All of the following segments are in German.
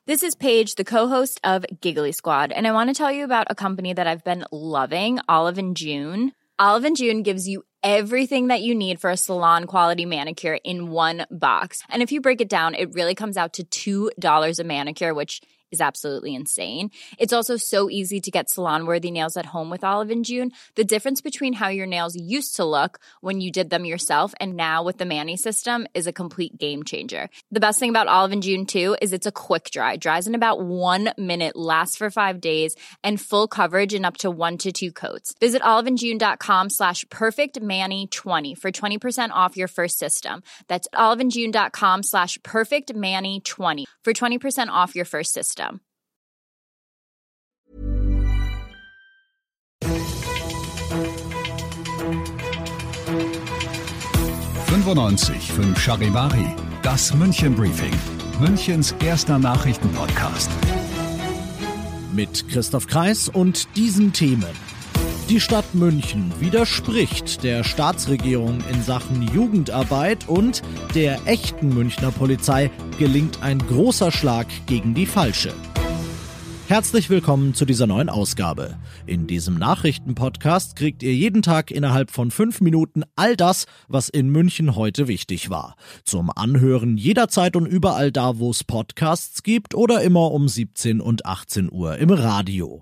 This is Paige, the co-host of Giggly Squad, and I want to tell you about a company that I've been loving, Olive & June. Olive & June gives you everything that you need for a salon-quality manicure in one box. And if you break it down, it really comes out to $2 a manicure, which is absolutely insane. It's also so easy to get salon-worthy nails at home with Olive & June. The difference between how your nails used to look when you did them yourself and now with the Mani system is a complete game changer. The best thing about Olive & June, too, is it's a quick dry. Dries in about 1 minute, lasts for 5 days, and full coverage in up to 1 to 2 coats. Visit oliveandjune.com/perfectmani20 for 20% off your first system. That's oliveandjune.com/perfectmani20 for 20% off your first system. 95.5 Charivari, das München Briefing, Münchens erster Nachrichtenpodcast. Mit Christoph Kreis und diesen Themen. Die Stadt München widerspricht der Staatsregierung in Sachen Jugendarbeit und der echten Münchner Polizei gelingt ein großer Schlag gegen die falsche. Herzlich willkommen zu dieser neuen Ausgabe. In diesem Nachrichtenpodcast kriegt ihr jeden Tag innerhalb von 5 Minuten all das, was in München heute wichtig war. Zum Anhören jederzeit und überall da, wo es Podcasts gibt oder immer um 17 und 18 Uhr im Radio.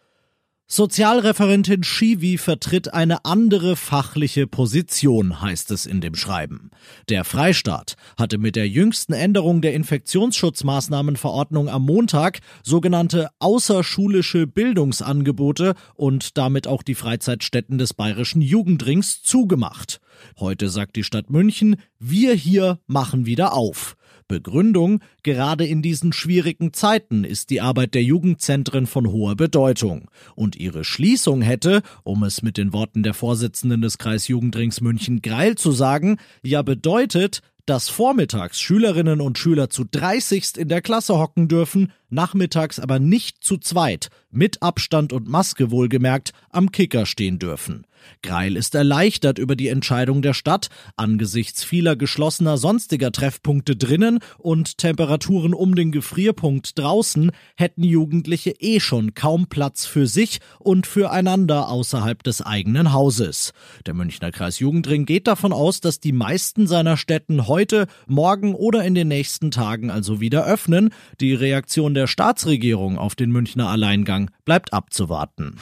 Sozialreferentin Schiwi vertritt eine andere fachliche Position, heißt es in dem Schreiben. Der Freistaat hatte mit der jüngsten Änderung der Infektionsschutzmaßnahmenverordnung am Montag sogenannte außerschulische Bildungsangebote und damit auch die Freizeitstätten des Bayerischen Jugendrings zugemacht. Heute sagt die Stadt München, wir hier machen wieder auf. Begründung, gerade in diesen schwierigen Zeiten ist die Arbeit der Jugendzentren von hoher Bedeutung. Und ihre Schließung hätte, um es mit den Worten der Vorsitzenden des Kreisjugendrings München-Greil zu sagen, ja bedeutet, dass vormittags Schülerinnen und Schüler zu 30 in der Klasse hocken dürfen, nachmittags aber nicht zu zweit, mit Abstand und Maske wohlgemerkt, am Kicker stehen dürfen. Greil ist erleichtert über die Entscheidung der Stadt, angesichts vieler geschlossener sonstiger Treffpunkte drinnen und Temperaturen um den Gefrierpunkt draußen hätten Jugendliche schon kaum Platz für sich und füreinander außerhalb des eigenen Hauses. Der Münchner Kreisjugendring geht davon aus, dass die meisten seiner Städten heute, morgen oder in den nächsten Tagen also wieder öffnen. Die Reaktion der Staatsregierung auf den Münchner Alleingang bleibt abzuwarten.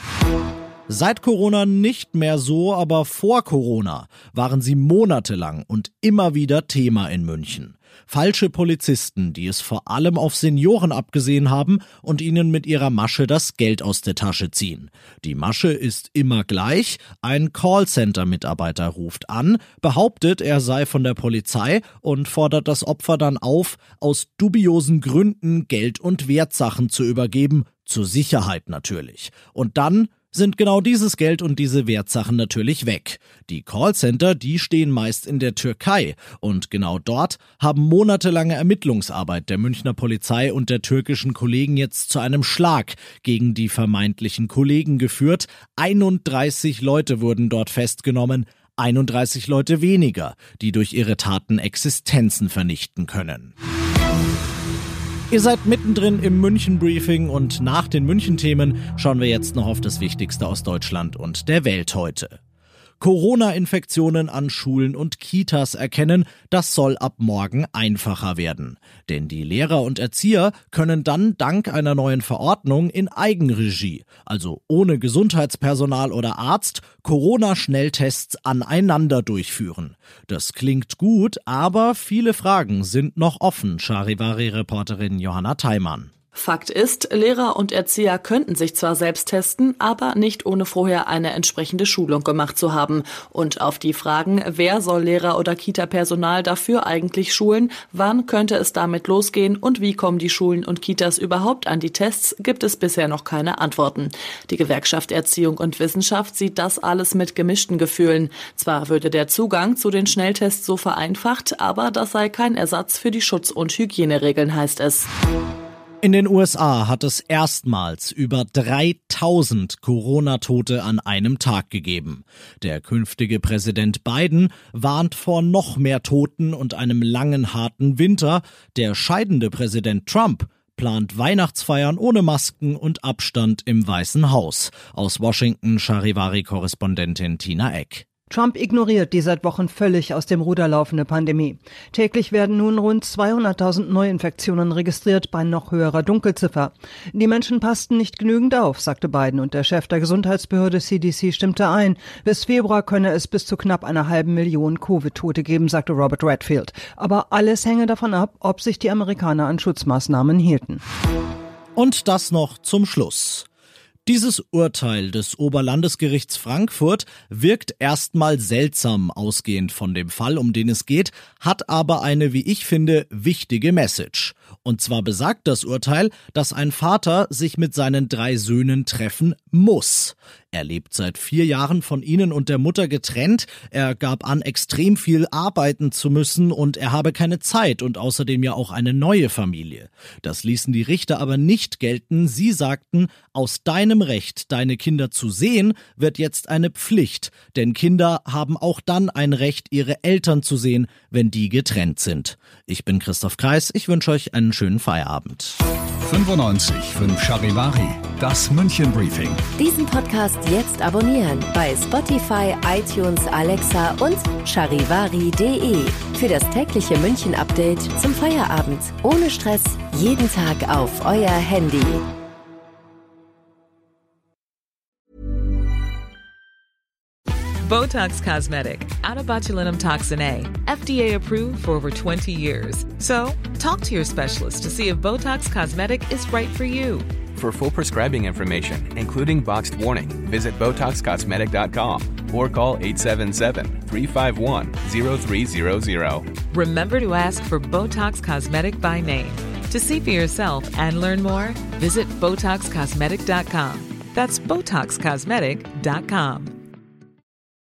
Seit Corona nicht mehr so, aber vor Corona waren sie monatelang und immer wieder Thema in München. Falsche Polizisten, die es vor allem auf Senioren abgesehen haben und ihnen mit ihrer Masche das Geld aus der Tasche ziehen. Die Masche ist immer gleich. Ein Callcenter-Mitarbeiter ruft an, behauptet, er sei von der Polizei und fordert das Opfer dann auf, aus dubiosen Gründen Geld und Wertsachen zu übergeben, zur Sicherheit natürlich. Und dann sind genau dieses Geld und diese Wertsachen natürlich weg. Die Callcenter, die stehen meist in der Türkei und genau dort haben monatelange Ermittlungsarbeit der Münchner Polizei und der türkischen Kollegen jetzt zu einem Schlag gegen die vermeintlichen Kollegen geführt. 31 Leute wurden dort festgenommen, 31 Leute weniger, die durch ihre Taten Existenzen vernichten können. Ihr seid mittendrin im München-Briefing und nach den München-Themen schauen wir jetzt noch auf das Wichtigste aus Deutschland und der Welt heute. Corona-Infektionen an Schulen und Kitas erkennen, das soll ab morgen einfacher werden. Denn die Lehrer und Erzieher können dann dank einer neuen Verordnung in Eigenregie, also ohne Gesundheitspersonal oder Arzt, Corona-Schnelltests aneinander durchführen. Das klingt gut, aber viele Fragen sind noch offen, Charivari-Reporterin Johanna Theimann. Fakt ist, Lehrer und Erzieher könnten sich zwar selbst testen, aber nicht ohne vorher eine entsprechende Schulung gemacht zu haben. Und auf die Fragen, wer soll Lehrer oder Kita-Personal dafür eigentlich schulen, wann könnte es damit losgehen und wie kommen die Schulen und Kitas überhaupt an die Tests, gibt es bisher noch keine Antworten. Die Gewerkschaft Erziehung und Wissenschaft sieht das alles mit gemischten Gefühlen. Zwar würde der Zugang zu den Schnelltests so vereinfacht, aber das sei kein Ersatz für die Schutz- und Hygieneregeln, heißt es. In den USA hat es erstmals über 3000 Corona-Tote an einem Tag gegeben. Der künftige Präsident Biden warnt vor noch mehr Toten und einem langen, harten Winter. Der scheidende Präsident Trump plant Weihnachtsfeiern ohne Masken und Abstand im Weißen Haus. Aus Washington Charivari-Korrespondentin Tina Eck. Trump ignoriert die seit Wochen völlig aus dem Ruder laufende Pandemie. Täglich werden nun rund 200.000 Neuinfektionen registriert bei noch höherer Dunkelziffer. Die Menschen passten nicht genügend auf, sagte Biden, und der Chef der Gesundheitsbehörde CDC stimmte ein. Bis Februar könne es bis zu knapp 500.000 Covid-Tote geben, sagte Robert Redfield. Aber alles hänge davon ab, ob sich die Amerikaner an Schutzmaßnahmen hielten. Und das noch zum Schluss. Dieses Urteil des Oberlandesgerichts Frankfurt wirkt erstmal seltsam ausgehend von dem Fall, um den es geht, hat aber eine, wie ich finde, wichtige Message. Und zwar besagt das Urteil, dass ein Vater sich mit seinen 3 Söhnen treffen muss. Er lebt seit 4 Jahren von ihnen und der Mutter getrennt. Er gab an, extrem viel arbeiten zu müssen und er habe keine Zeit und außerdem ja auch eine neue Familie. Das ließen die Richter aber nicht gelten. Sie sagten, aus deinem Recht, deine Kinder zu sehen, wird jetzt eine Pflicht. Denn Kinder haben auch dann ein Recht, ihre Eltern zu sehen, wenn die getrennt sind. Ich bin Christoph Kreis. Ich wünsche euch einen schönen Feierabend. 95.5 Charivari, das München Briefing. Diesen Podcast jetzt abonnieren bei Spotify, iTunes, Alexa und charivari.de. Für das tägliche München-Update zum Feierabend. Ohne Stress, jeden Tag auf euer Handy. Botox Cosmetic, out of botulinum toxin A, FDA approved for over 20 years. So, talk to your specialist to see if Botox Cosmetic is right for you. For full prescribing information, including boxed warning, visit BotoxCosmetic.com or call 877-351-0300. Remember to ask for Botox Cosmetic by name. To see for yourself and learn more, visit BotoxCosmetic.com. That's BotoxCosmetic.com.